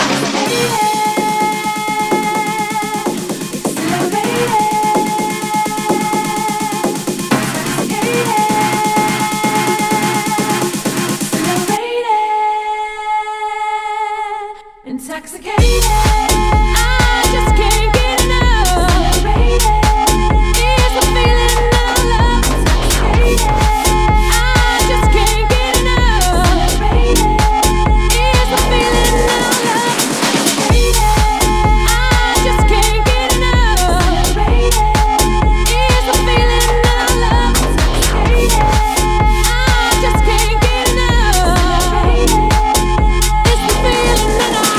Intoxicated, I just can't get enough. It's the feeling of love. I just can't get enough. It's the feeling of love. I just can't get enough. It's the feeling of love. I just can't get enough. It's the feeling that I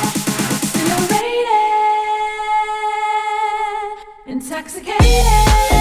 intoxicated.